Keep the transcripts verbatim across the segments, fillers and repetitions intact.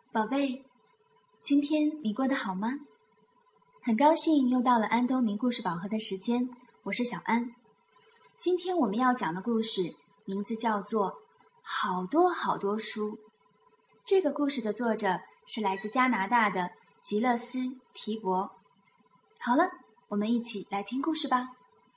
宝贝，今天你过得好吗？很高兴又到了安东尼故事宝盒的时间，我是小安。今天我们要讲的故事名字叫做《好多好多书》。这个故事的作者是来自加拿大的吉勒斯·提伯。好了，我们一起来听故事吧。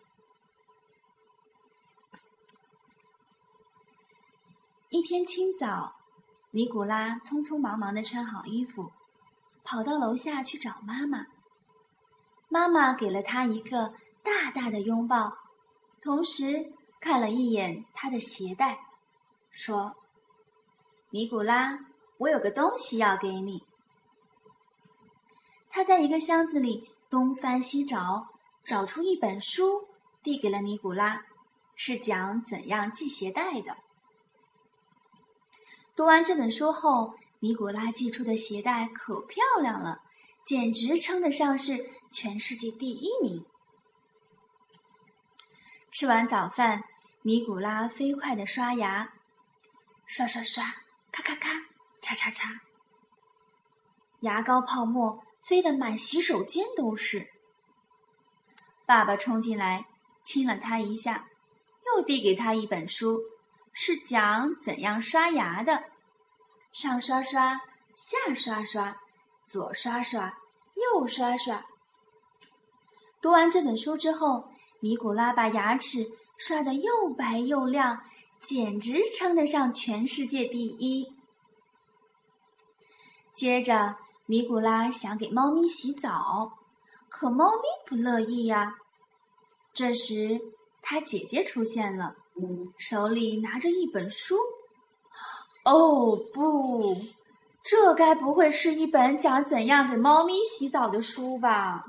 一天清早，尼古拉匆匆忙忙地穿好衣服，跑到楼下去找妈妈。妈妈给了他一个大大的拥抱，同时看了一眼他的鞋带，说：“尼古拉，我有个东西要给你。”他在一个箱子里东翻西找，找出一本书，递给了尼古拉，是讲怎样系鞋带的。读完这本书后，尼古拉系出的鞋带可漂亮了，简直称得上是全世界第一名。吃完早饭，尼古拉飞快地刷牙，刷刷刷，咔咔咔，嚓嚓嚓，牙膏泡沫飞得满洗手间都是。爸爸冲进来，亲了他一下，又递给他一本书，是讲怎样刷牙的。上刷刷，下刷刷，左刷刷，右刷刷。读完这本书之后，尼古拉把牙齿刷得又白又亮，简直称得上全世界第一。接着，尼古拉想给猫咪洗澡，可猫咪不乐意呀。这时，他姐姐出现了，手里拿着一本书。哦不，这该不会是一本讲怎样给猫咪洗澡的书吧？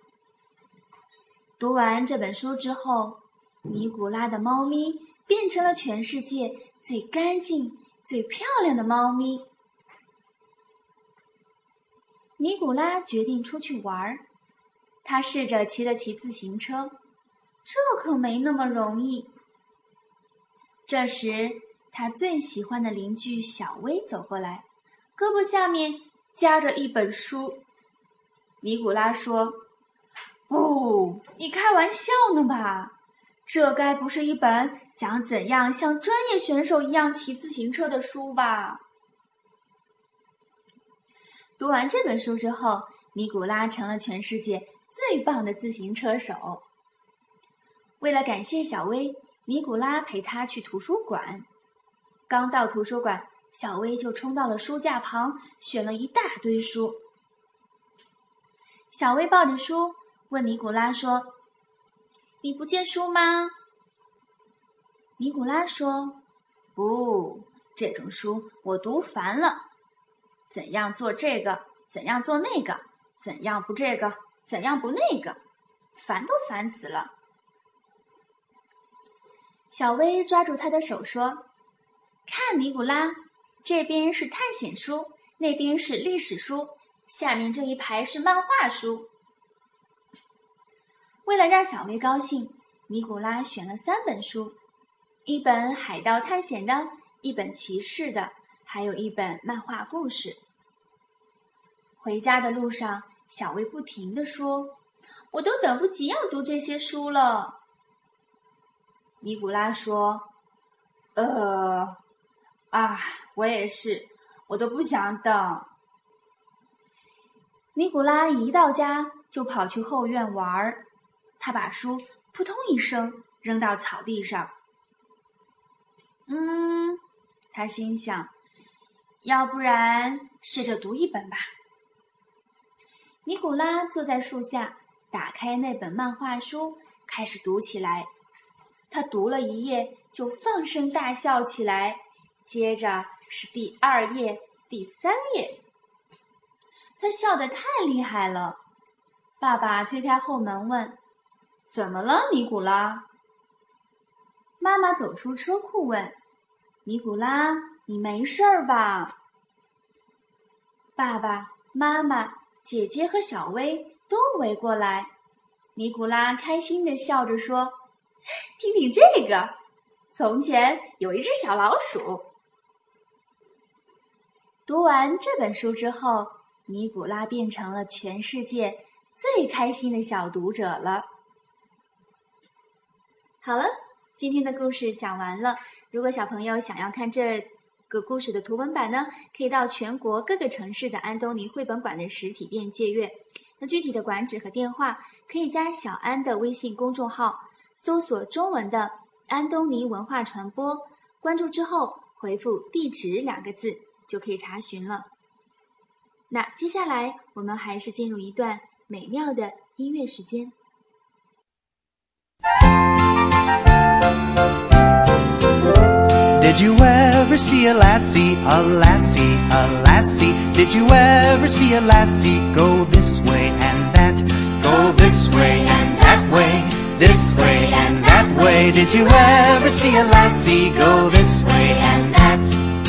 读完这本书之后，尼古拉的猫咪变成了全世界最干净、最漂亮的猫咪。尼古拉决定出去玩，他试着骑了骑自行车，这可没那么容易。这时，他最喜欢的邻居小薇走过来，胳膊下面夹着一本书。尼古拉说：“不，你开玩笑呢吧？这该不是一本讲怎样像专业选手一样骑自行车的书吧？”读完这本书之后，尼古拉成了全世界最棒的自行车手。为了感谢小薇，尼古拉陪他去图书馆。刚到图书馆，小薇就冲到了书架旁，选了一大堆书。小薇抱着书问尼古拉说：“你不借书吗？”尼古拉说：“不，这种书我读烦了。怎样做这个，怎样做那个，怎样不这个，怎样不那个，烦都烦死了。”小薇抓住他的手说：“看，尼古拉，这边是探险书，那边是历史书，下面这一排是漫画书。”为了让小薇高兴，尼古拉选了三本书，一本海盗探险的，一本骑士的，还有一本漫画故事。回家的路上，小薇不停地说：“我都等不及要读这些书了。”尼古拉说：“呃，啊，我也是，我都不想等。”尼古拉一到家就跑去后院玩，他把书扑通一声扔到草地上。嗯，他心想，要不然试着读一本吧。尼古拉坐在树下，打开那本漫画书，开始读起来。他读了一页就放声大笑起来，接着是第二页、第三页。他笑得太厉害了。爸爸推开后门问：“怎么了，尼古拉？”妈妈走出车库问：“尼古拉，你没事儿吧？”爸爸妈妈、姐姐和小薇都围过来。尼古拉开心地笑着说：“听听这个，从前有一只小老鼠。” 读完这本书之后，尼古拉变成了全世界最开心的小读者了。好了，今天的故事讲完了。如果小朋友想要看这个故事的图文版呢，可以到全国各个城市的安东尼绘本馆的实体店借阅。那具体的馆址和电话，可以加小安的微信公众号，搜索中文的安东尼文化传播，关注之后回复地址两个字就可以查询了。那接下来我们还是进入一段美妙的音乐时间。 Did you ever see a lassie, a lassie, a lassie? Did you ever see a lassie go this way and that? Go this way and that way, this way and that way. Did you ever see a lassie go this way and that?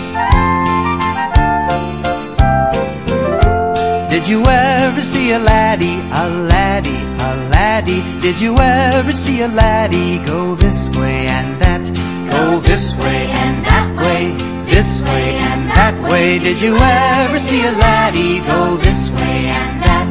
Did you ever see a laddie, a laddie, a laddie? Did you ever see a laddie go this way and that? Go this way and that way, this way and that way. Did you ever see a laddie go this way and that?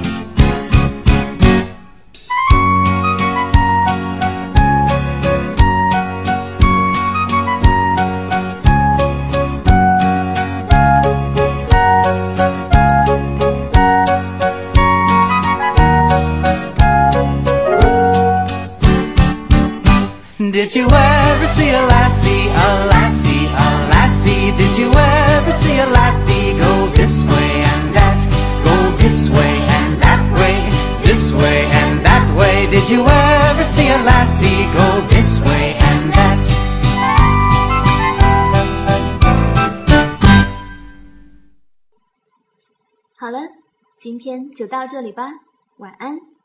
Did you ever see a lassie, a lassie, a lassie? Did you ever see a lassie go this way and that? Go this way and that way, this way and that way. Did you ever see a lassie go this way and that? 好了，今天就到这里吧，晚安。